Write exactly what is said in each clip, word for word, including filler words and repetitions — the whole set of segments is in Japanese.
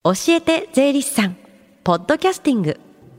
教えて税理士さんポッドキャスティング。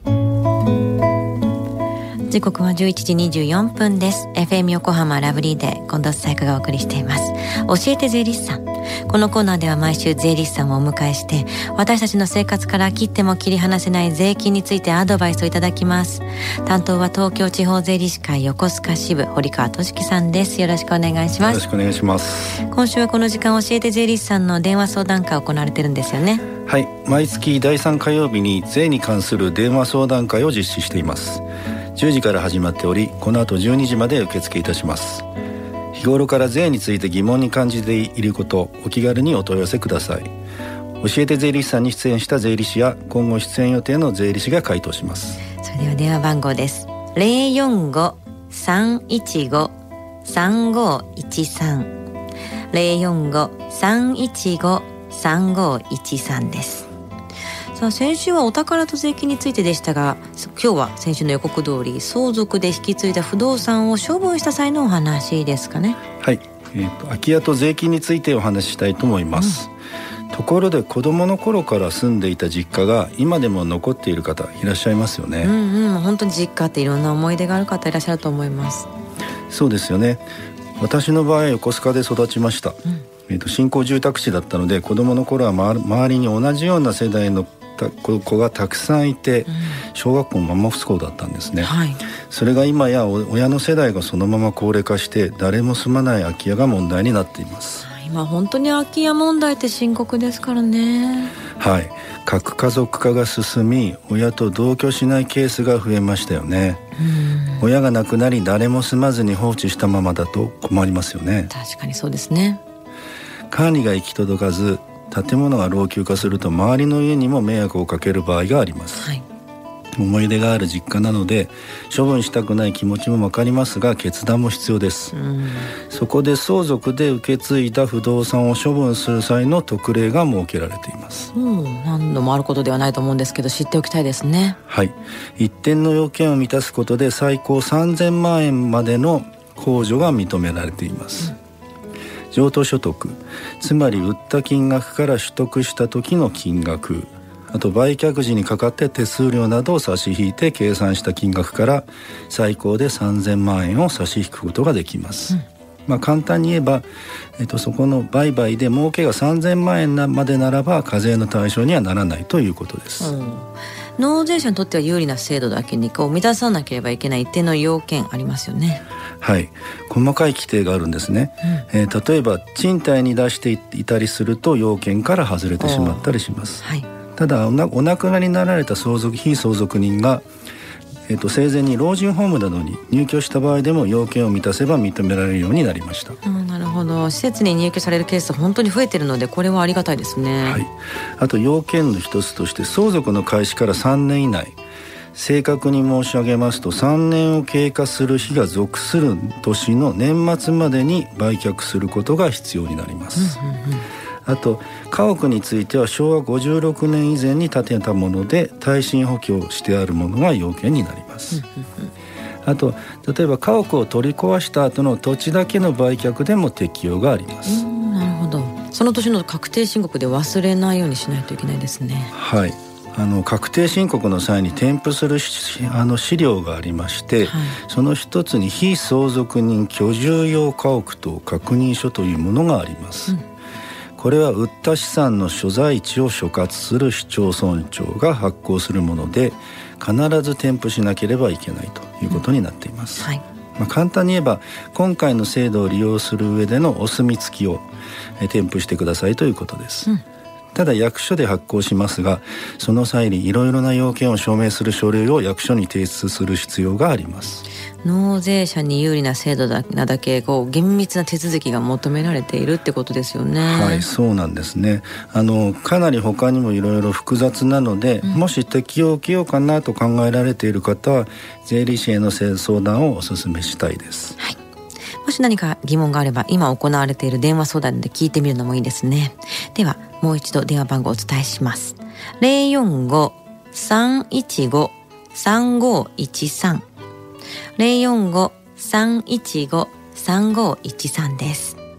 時刻はじゅういちじにじゅうよんぷんです。 エフエム 横浜ラブリーで近藤紗友香がお送りしています。教えて税理士さん。このコーナーでは毎週税理士さんをお迎えして、私たちの生活から切っても切り離せない税金についてアドバイスをいただきます。担当は東京地方税理士会横須賀支部堀川俊樹さんです。よろしくお願いします。 よろしくお願いします。 今週はこの時間教えて税理士さんの電話相談会を行われてるんですよね。 はい、毎月だいさん火曜日に税に関する電話相談会を実施しています。じゅうじから始まっており、この後じゅうにじまで受付いたします。日頃から税について疑問に感じていること、お気軽にお問い合わせください。教えて税理士さんに出演した税理士や今後出演予定の税理士が回答します。 それでは電話番号です。 ゼロよんご さんいちご さんごいちさん ゼロよんご さんいちご さんごいちさんです。さあ、先週はお宝と税金についてでしたが、今日は先週の予告通り相続で引き継いだ不動産を処分した際のお話ですかね。 はい、えーと、空き家と税金についてお話ししたいと思います、うん、ところで子どもの頃から住んでいた実家が今でも残っている方いらっしゃいますよね。 うんうん、本当に実家っていろんな思い出がある方いらっしゃると思います。 そうですよね。私の場合横須賀で育ちました、うんえーと、新興住宅地だったので、子どもの頃は周りに同じような世代の子がたくさんいて、小学校もマンモス校だったんですね、はい、それが今や親の世代がそのまま高齢化して誰も住まない空き家が問題になっています。 今本当に空き家問題って深刻ですからね。 はい、核家族化が進み、親と同居しないケースが増えましたよね。うん、親が亡くなり誰も住まずに放置したままだと困りますよね。 確かにそうですね。 管理が行き届かず建物が老朽化すると周りの家にも迷惑をかける場合があります、はい、思い出がある実家なので処分したくない気持ちも分かりますが、決断も必要です。うん、そこで相続で受け継いだ不動産を処分する際の特例が設けられています。 うん、何度もあることではないと思うんですけど、知っておきたいですね。 はい、一定の要件を満たすことで最高さんぜんまんえんまでの控除が認められています。うん、譲渡所得、つまり売った金額から取得した時の金額、あと売却時にかかって手数料などを差し引いて計算した金額から最高でさんぜんまんえんを差し引くことができます。うん、まあ、簡単に言えば、えっと、そこの売買で儲けがさんぜんまんえんまでならば課税の対象にはならないということです。うん、 納税者にとっては有利な制度だけにこう満たさなければいけない一定の要件ありますよね。 はい、細かい規定があるんですね。うん、えー、例えば賃貸に出していたりすると要件から外れてしまったりします。はい、ただ お, なお亡くなりになられた相続非相続人が、えー、と生前に老人ホームなどに入居した場合でも要件を満たせば認められるようになりました。 うん、なるほど。施設に入居されるケースは本当に増えているので、これはありがたいですね。 はい、あと要件の一つとして相続の開始からさんねん以内、正確に申し上げますとさんねんを経過する日が属する年の年末までに売却することが必要になります。うんうんうん、あと家屋についてはしょうわごじゅうろくねん以前に建てたもので耐震補強してあるものが要件になります。うんうんうん、あと例えば家屋を取り壊した後の土地だけの売却でも適用があります。 うん、なるほど。その年の確定申告で忘れないようにしないといけないですね。 はい、あの確定申告の際に添付するあの資料がありまして、はい、その一つに非相続人居住用家屋等確認書というものがあります。うん、これは売った資産の所在地を所轄する市町村長が発行するもので、必ず添付しなければいけないということになっています。うん、はい、まあ、簡単に言えば今回の制度を利用する上でのお墨付きを添付してくださいということです。うん、ただ役所で発行しますが、その際にいろいろな要件を証明する書類を役所に提出する必要があります。 納税者に有利な制度だだけこう厳密な手続きが求められているってことですよね。 はい、そうなんですね。あのかなり他にもいろいろ複雑なので、うん、もし適用を受けようかなと考えられている方は税理士への相談をお勧めしたいです。 はい、もし何か疑問があれば今行われている電話相談で聞いてみるのもいいですね。ではもう一度電話番号をお伝えします。 ゼロよんご さんいちご さんごいちさん ゼロよんご さんいちご さんごいちさんです。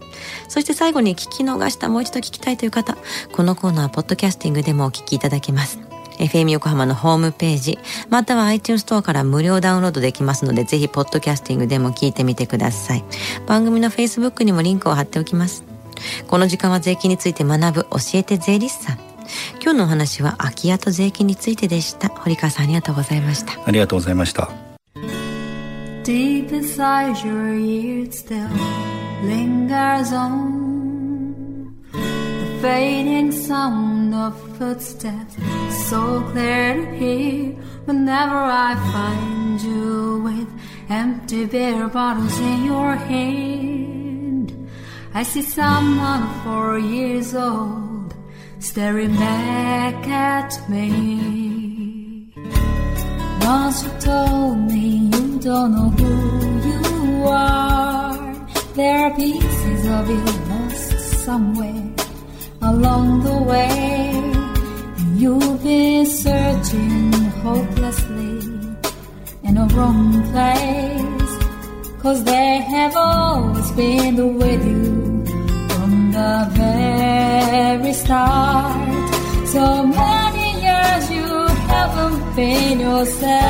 そして最後に聞き逃したもう一度聞きたいという方、このコーナーはポッドキャスティングでもお聞きいただけます。エフエム 横浜のホームページまたは iTunes ストアから無料ダウンロードできますので、ぜひポッドキャスティングでも聞いてみてください。番組の Facebook にもリンクを貼っておきます。この時間は税金について学ぶ教えて税理士さん。今日のお話は空き家と税金についてでした。堀川さん、ありがとうございました。 ありがとうございました。 Deep inside your ears still lingers on the fading sound of footsteps, so clear to hear whenever I find you with empty beer bottles in your hand. I see someone four years old staring back at me. Once you told me you don't know who you are. There are pieces of you lost somewhere along the way, and you've been searching hopelessly in a wrong place, 'cause they have always been with you from the very start. So many years you haven't been yourself.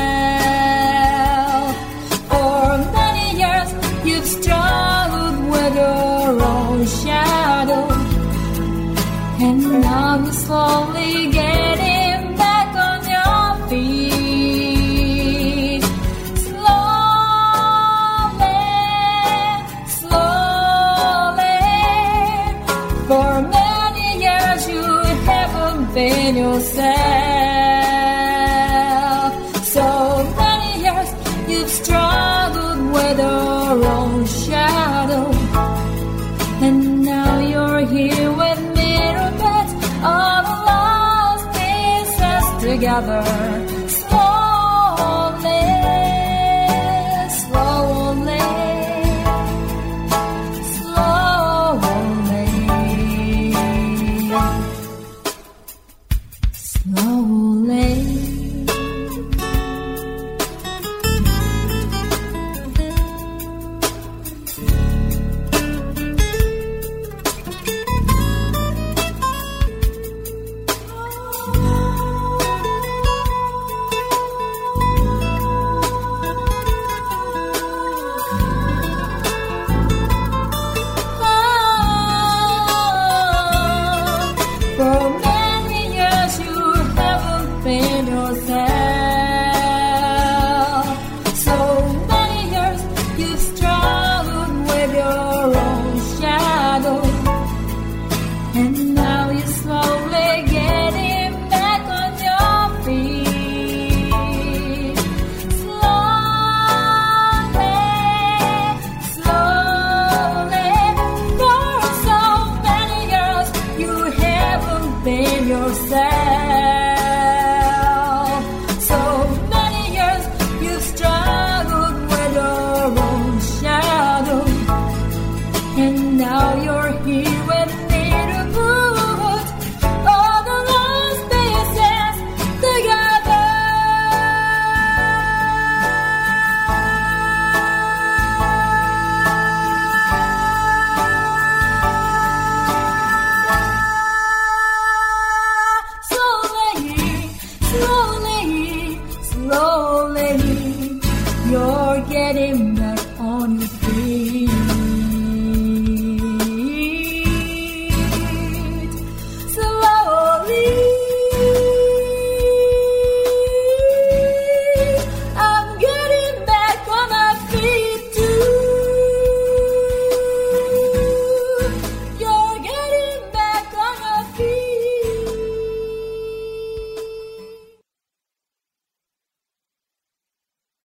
For many years you've struggled with your own shadow, and now you're slowly getting back on your feet. Slowly, slowly. For many years you haven't been yourself. So many years you've struggled with your own shadow, and now you're here with me to put all the lost pieces together. Slowly, slowly, slowly, slowly. For many years you haven't been yourself. So many years you've struggled with your own shadow, and now you're slowly getting back on your feet. Slowly, slowly. For so many years you haven't been yourself. So many years you've struggled with your own shadow, and now you're here with me to put all the lost pieces together. Slowly, slowly, slowly, you're getting